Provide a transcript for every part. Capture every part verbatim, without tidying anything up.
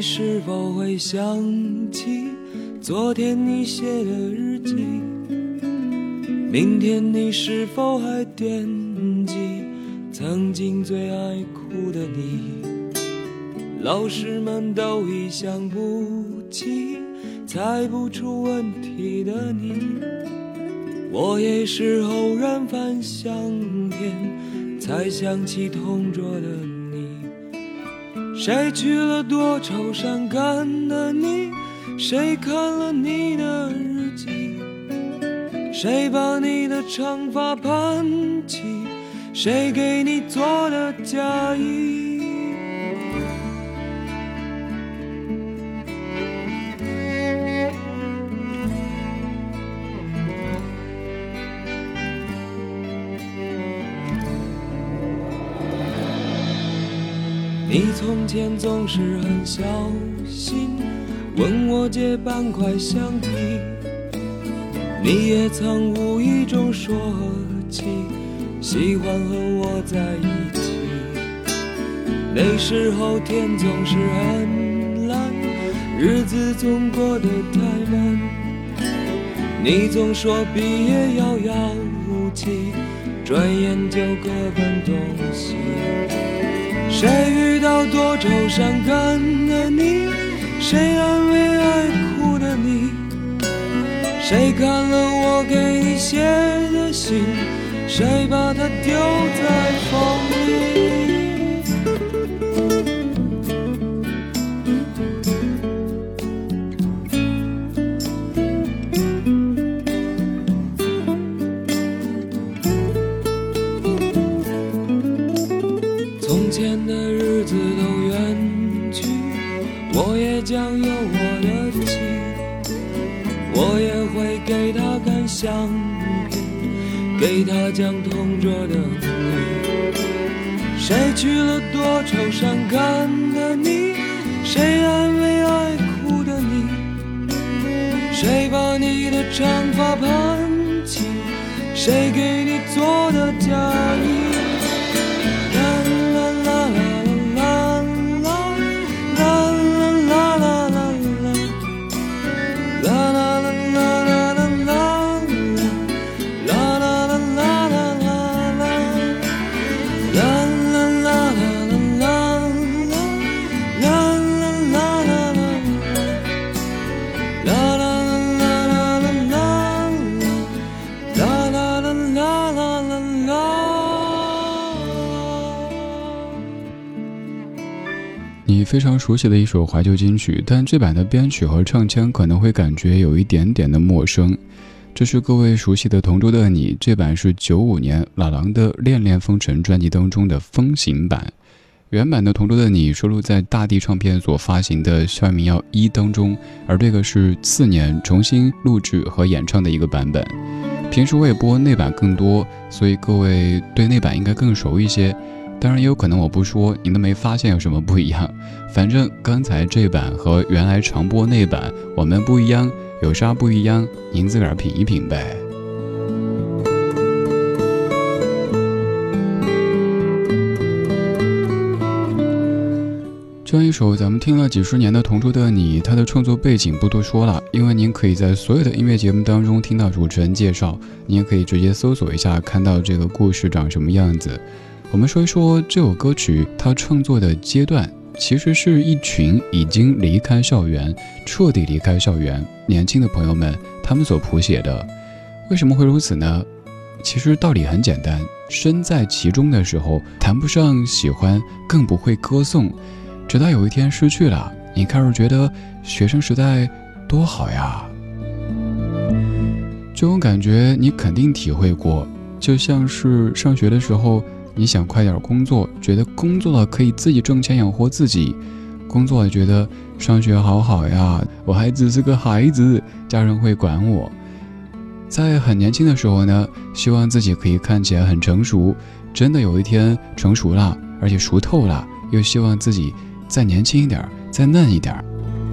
是否会想起昨天你写的日记？明天你是否还惦记曾经最爱哭的你？老师们都已想不起猜不出问题的你，我也是偶然翻相片才想起同桌的你。谁去了多愁善感的你？谁看了你的日记？谁把你的长发盘起？谁给你做的嫁衣？你从前总是很小心问我借半块橡皮，你也曾无意中说起喜欢和我在一起。那时候天总是很蓝，日子总过得太慢，你总说毕业遥遥无期，转眼就各奔东西。谁遇到多愁善感的你？谁安慰爱哭的你？谁看了我给你写的信？谁把它丢在风里？从前的日子都远去，我也将有我的妻，我也会给她看相片，给她讲同桌的你。谁去了多愁善感的你？谁安慰爱哭的你？谁把你的长发盘起？谁给你做的嫁衣？ 你非常熟悉的一首怀旧金曲，但这版的编曲和唱腔可能会感觉有一点点的陌生。这是各位熟悉的同桌的你，这版是九五年老狼的《恋恋风尘》专辑当中的风行版。原版的同桌的你收录在大地唱片所发行的《校园民谣一》当中，而这个是次年重新录制和演唱的一个版本。平时我也播那版更多，所以各位对那版应该更熟一些。当然也有可能我不说您都没发现有什么不一样，反正刚才这版和原来常播那版我们不一样，有啥不一样您自个儿品一品呗。这样一首咱们听了几十年的同桌的你，它的创作背景不多说了，因为您可以在所有的音乐节目当中听到主持人介绍，您也可以直接搜索一下看到这个故事长什么样子。我们说一说这首歌曲它创作的阶段，其实是一群已经离开校园彻底离开校园年轻的朋友们他们所谱写的。为什么会如此呢？其实道理很简单，身在其中的时候谈不上喜欢，更不会歌颂，直到有一天失去了，你开始觉得学生时代多好呀。这种感觉你肯定体会过，就像是上学的时候你想快点工作，觉得工作了可以自己挣钱养活自己，工作了觉得上学好好呀，我还只是个孩子，家人会管我。在很年轻的时候呢，希望自己可以看起来很成熟，真的有一天成熟了，而且熟透了，又希望自己再年轻一点，再嫩一点。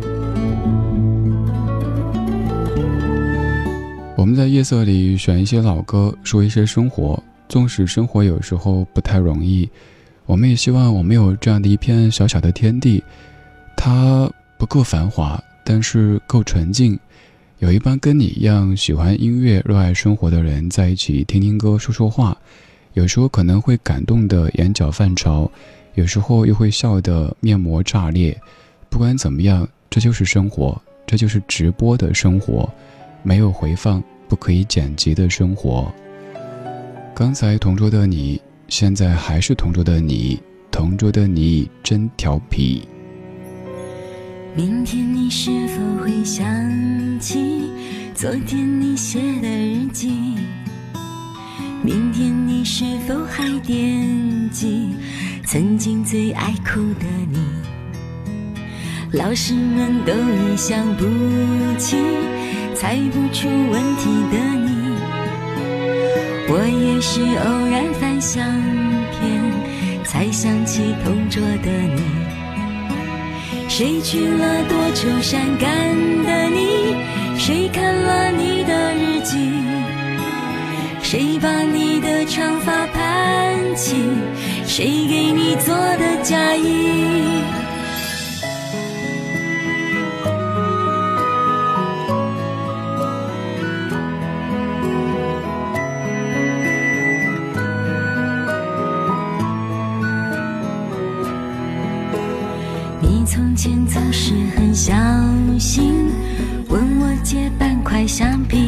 我们在夜色里选一些老歌，说一些生活，纵使生活有时候不太容易，我们也希望我们有这样的一片小小的天地，它不够繁华，但是够纯净。有一帮跟你一样喜欢音乐、热爱生活的人在一起听听歌、说说话，有时候可能会感动的眼角泛潮，有时候又会笑得面膜炸裂。不管怎么样，这就是生活，这就是直播的生活，没有回放、不可以剪辑的生活。刚才同桌的你，现在还是同桌的你，同桌的你真调皮。 明天你是否会想起昨天你写的日记？明天你是否还惦记曾经最爱哭的你？老师们都已想不起猜不出问题的你，我也是偶然翻相片才想起同桌的你。谁去了多愁善感的你？谁看了你的日记？谁把你的长发盘起？谁给你做的嫁衣？从前总是很小心问我借半块橡皮，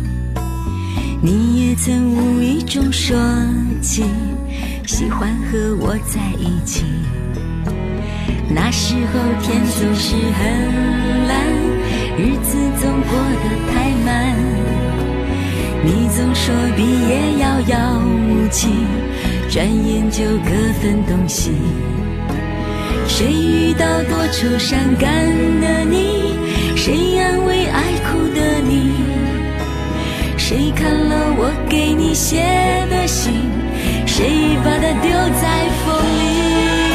你也曾无意中说起喜欢和我在一起。那时候天总是很蓝，日子总过得太慢，你总说毕业遥遥无期，转眼就各分东西。谁遇到多愁善感的你？谁安慰爱哭的你？谁看了我给你写的信？谁把它丢在风里？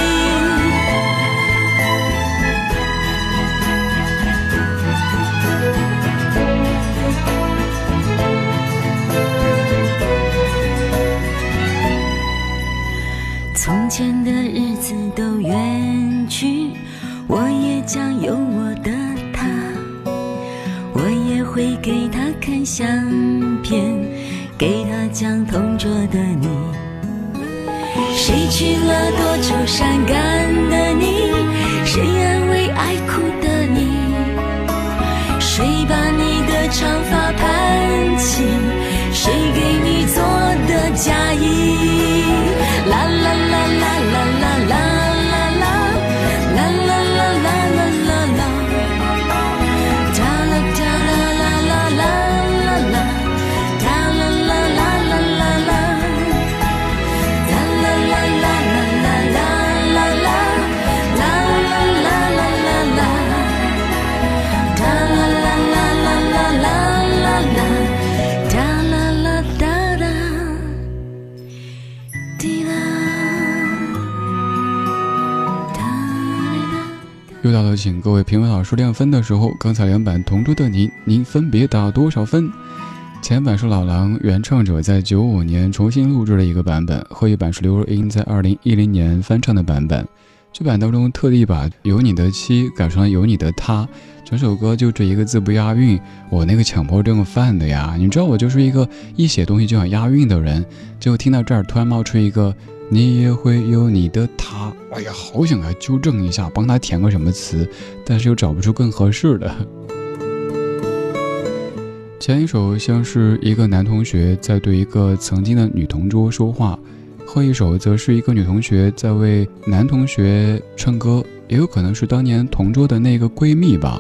从前的日子都远去，我也将有我的他，我也会给他看相片，给他讲同桌的你。谁去了多愁善感的你？谁安慰爱哭的你？谁把你的长发盘起？谁给你做的嫁衣？啦啦啦啦啦啦啦啦啦啦啦啦啦啦啦啦，哒啦哒啦啦啦啦啦啦，哒啦啦啦啦啦啦，哒啦啦啦啦啦啦啦啦，啦啦啦啦啦啦，哒啦啦啦啦啦啦啦啦，哒啦啦哒哒滴啦。 又到了请各位评委老师亮分的时候，刚才两版同桌的您，您分别打多少分？前版是老狼原唱者在九五年重新录制了一个版本，后一版是刘若英在二零一零年翻唱的版本。这版当中特地把有你的妻改成了有你的他，整首歌就这一个字不押韵，我那个强迫症犯的呀！你知道我就是一个一写东西就想押韵的人，结果听到这儿突然冒出一个你也会有你的他，哎呀，好想来纠正一下，帮他填个什么词，但是又找不出更合适的。前一首像是一个男同学在对一个曾经的女同桌说话，后一首则是一个女同学在为男同学唱歌，也有可能是当年同桌的那个闺蜜吧。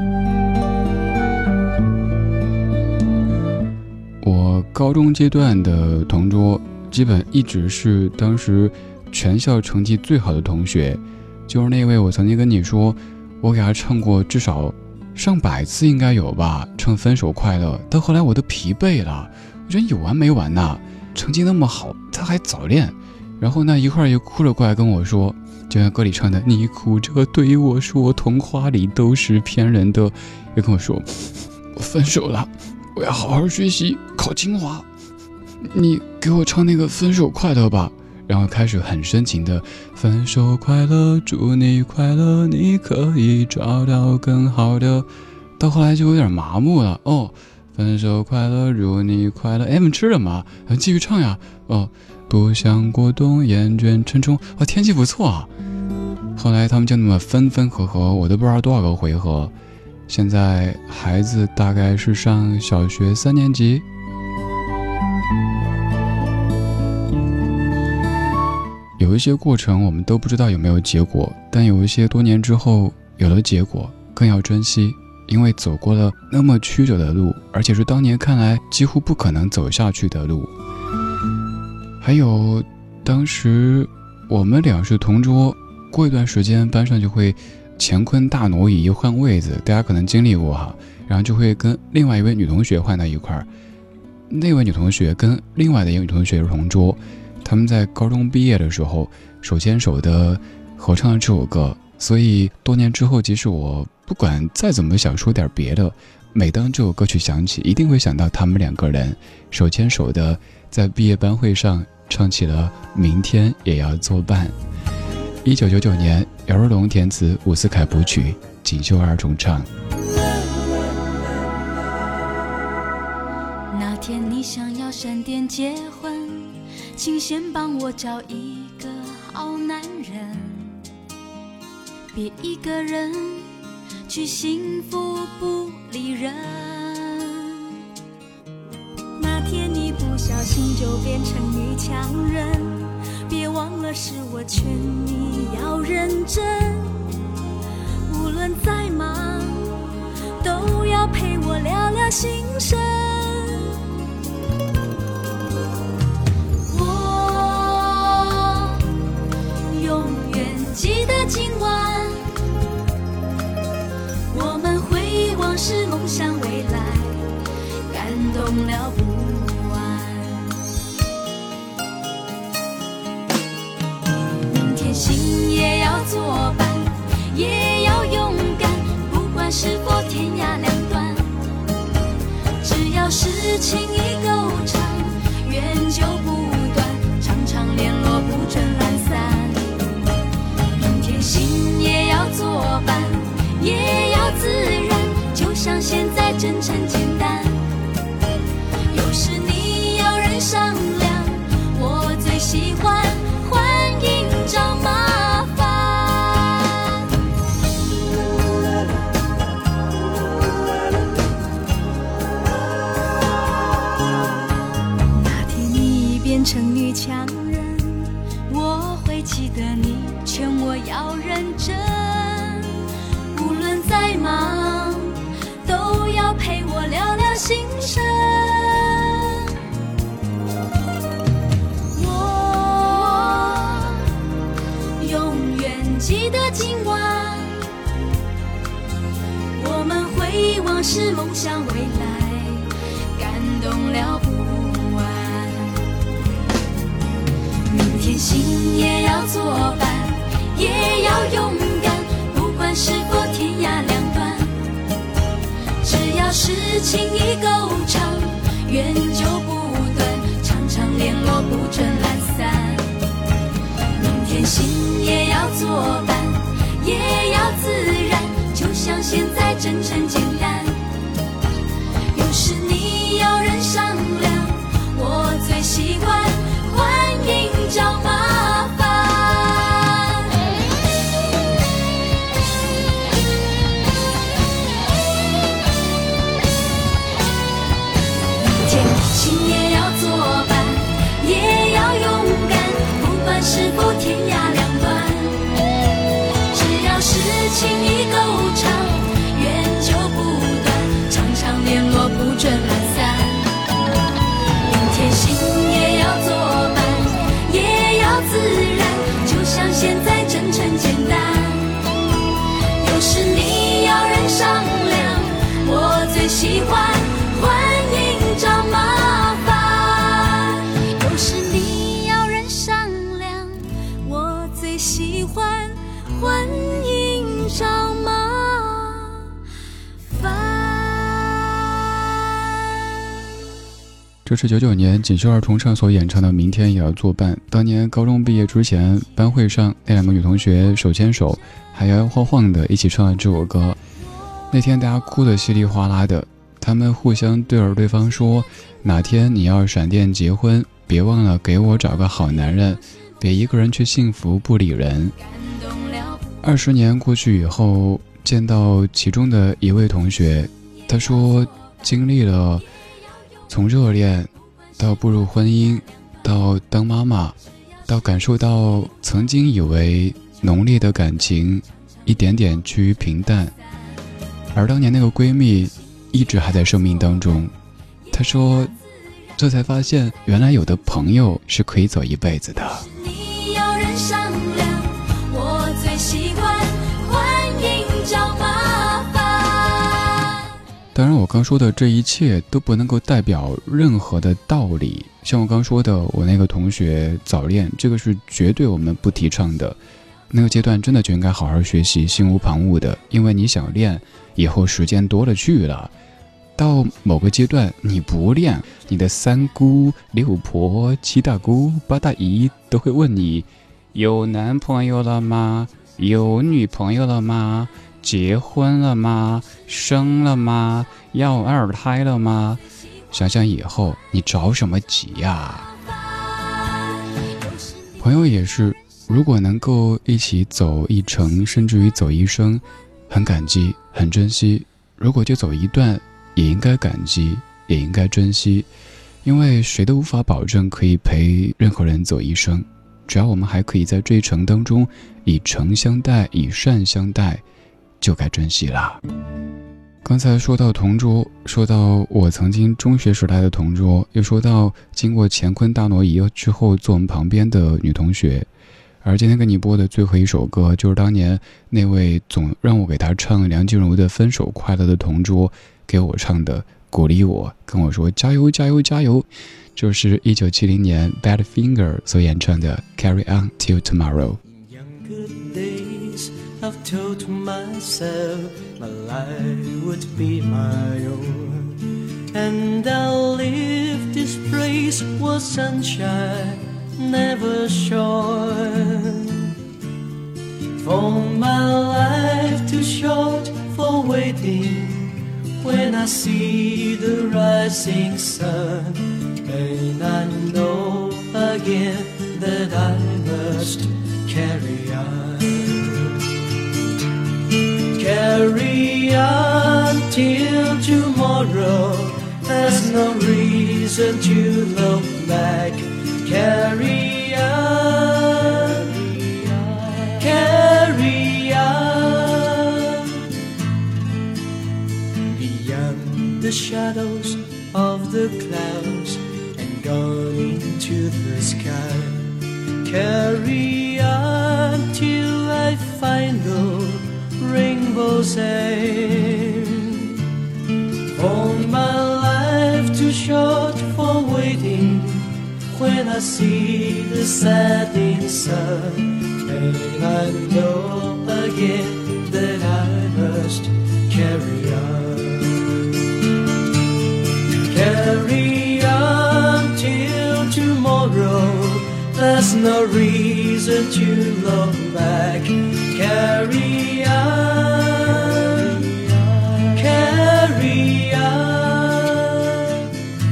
我高中阶段的同桌基本一直是当时全校成绩最好的同学，就是那位我曾经跟你说我给他唱过至少上百次应该有吧，唱分手快乐，到后来我都疲惫了，我觉得有完没完呐，成绩那么好他还早恋，然后呢一会儿又哭着过来跟我说，就像歌里唱的你哭着对我说童话里都是骗人的，又跟我说我分手了，我要好好学习考清华，你给我唱那个分手快乐吧。 然后开始很深情的分手快乐，祝你快乐，你可以找到更好的，到后来就有点麻木了。哦，分手快乐，祝你快乐，哎，们吃了吗？继续唱呀。哦，不想过冬，厌倦沉重，哦，天气不错啊。后来他们就那么分分合合，我都不知道多少个回合。现在孩子大概是上小学三年级。有一些过程我们都不知道有没有结果，但有一些多年之后有了结果，更要珍惜，因为走过了那么曲折的路，而且是当年看来几乎不可能走下去的路。还有当时我们俩是同桌，过一段时间班上就会乾坤大挪移换位子，大家可能经历过哈，然后就会跟另外一位女同学换到一块儿，那位女同学跟另外的一个女同学是同桌，他们在高中毕业的时候手牵手的合唱了这首歌，所以多年之后即使我不管再怎么想说点别的，每当这首歌曲响起，一定会想到他们两个人手牵手的在毕业班会上唱起了明天也要作伴。一九九九年，姚若龙填词，伍思凯谱曲，锦绣二重唱。 那天你想要闪电结婚，请先帮我找一个好男人，别一个人去幸福不理人。那天你不小心就变成女强人，别忘了是我劝你要认真，无论再忙都要陪我聊聊心声。我永远记得今晚我们回望是梦想未来，感动了不心也要作伴，也要勇敢，不管是否天涯两端，只要是情谊够长，缘就不断，常常联络不准懒散。明天心也要作伴，也要自然，就像现在真诚简单。有时你要人商量，我最喜欢欢迎找麻烦。那天你变成女强人，我会记得你劝我要认真，无论再忙都要陪我聊聊心声。记得今晚我们回望是梦想未来，感动了不完。明天心也要作伴，也要勇敢，不管是否天涯两端，只要是情谊够长，缘就不断，常常联络不准懒散。明天心也要作伴，也要自然，就像现在真诚简单。有时你要人商量，我最喜欢欢迎找麻烦。明天心也要作伴，也要勇敢，不管是否天涯两端，只要是情谊够长，缘就不这是九九年锦绣二重唱所演唱的《明天也要作伴》。当年高中毕业之前，班会上那两个女同学手牵手，还摇摇晃晃的一起唱了这首歌。那天大家哭得稀里哗啦的，他们互相对着对方说：“哪天你要闪电结婚，别忘了给我找个好男人，别一个人去幸福不理人。”二十年过去以后，见到其中的一位同学，他说经历了从热恋到步入婚姻，到当妈妈，到感受到曾经以为浓烈的感情一点点趋于平淡，而当年那个闺蜜一直还在生命当中。她说这才发现原来有的朋友是可以走一辈子的。 你有人商量，我最喜欢欢迎找麻烦。 当然我刚说的这一切都不能够代表任何的道理，像我刚说的我那个同学早恋，这个是绝对我们不提倡的。那个阶段真的就应该好好学习，心无旁骛的，因为你想练以后时间多了去了，到某个阶段你不练，你的三姑六婆七大姑八大姨都会问你有男朋友了吗？有女朋友了吗？结婚了吗？生了吗？要二胎了吗？想想以后你着什么急呀？朋友也是，如果能够一起走一程，甚至于走一生，很感激很珍惜。如果就走一段，也应该感激也应该珍惜，因为谁都无法保证可以陪任何人走一生，只要我们还可以在这一程当中以诚相待，以善相待，就该珍惜啦。刚才说到同桌，说到我曾经中学时代的同桌，又说到经过乾坤大挪移之后坐我们旁边的女同学，而今天跟你播的最后一首歌，就是当年那位总让我给他唱梁静茹的《分手快乐》的同桌给我唱的，鼓励我，跟我说加油加油加油，就是一九七零年 Badfinger 所演唱的 Carry On Till Tomorrow。Younger days I've told myself my life would be my own, and I'll leave this place where sunshine never shone. For my life too short for waiting when I see the rising sun, and I know again that I must carry on. Carry on till tomorrow, there's no reason to look back. Carry on, carry on, beyond the shadows of the clouds and gone into the sky. Carry on till I find the rainbow's end. For my life too short for waiting when I see the setting sun, and I know again that I must carry on. Carry on till tomorrow, there's no reason to look back. Carry on, carry on,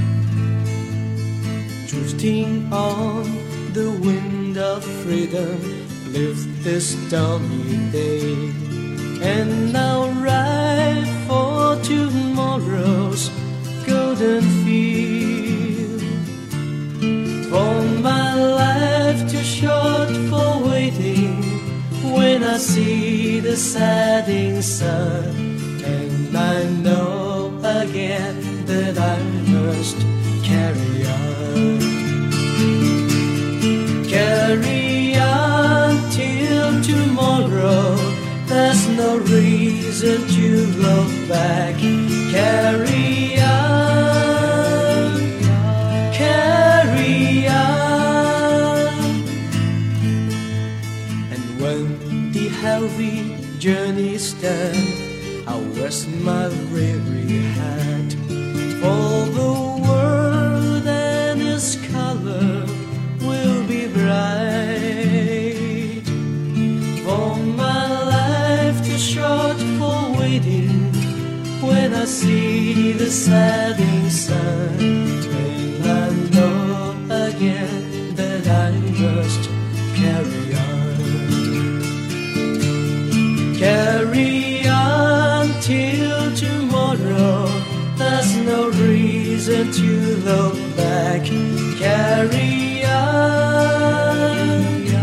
drifting on the wind of freedom, live this stormy day, and now ride for tomorrow's golden field. For my life too short for waiting when I see the setting sun, and I know again that I must carry on. Carry on till tomorrow, there's no reason to look back. Carry on, carry on. And when the heavy journey's done, I'll rest my weary head, for the world see the setting sun, will I know again that I must carry on. Carry on till tomorrow, there's no reason to look back. Carry on,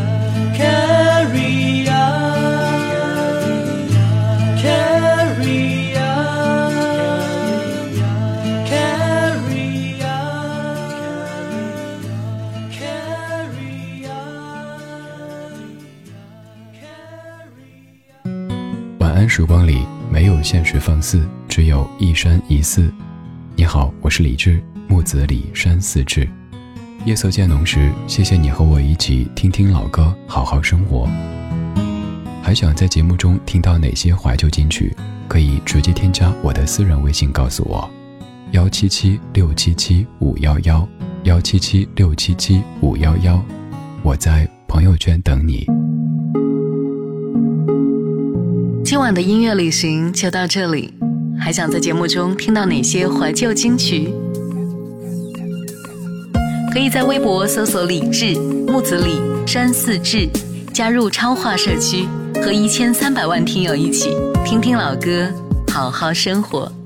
carry on, carry on, carry on, carry on。 晚安时光里没有现实放肆，只有一山一寺。你好，我是李志，木子李山寺志。夜色渐浓时，谢谢你和我一起听听老歌，好好生活。还想在节目中听到哪些怀旧金曲，可以直接添加我的私人微信告诉我，幺七七六七七五幺幺，幺七七六七七五幺幺，我在朋友圈等你。 今晚的音乐旅行就到这里，还想在节目中听到哪些怀旧金曲？可以在微博搜索李志、木子李、山寺志，加入超话社区，和一千三百万听友一起听听老歌，好好生活。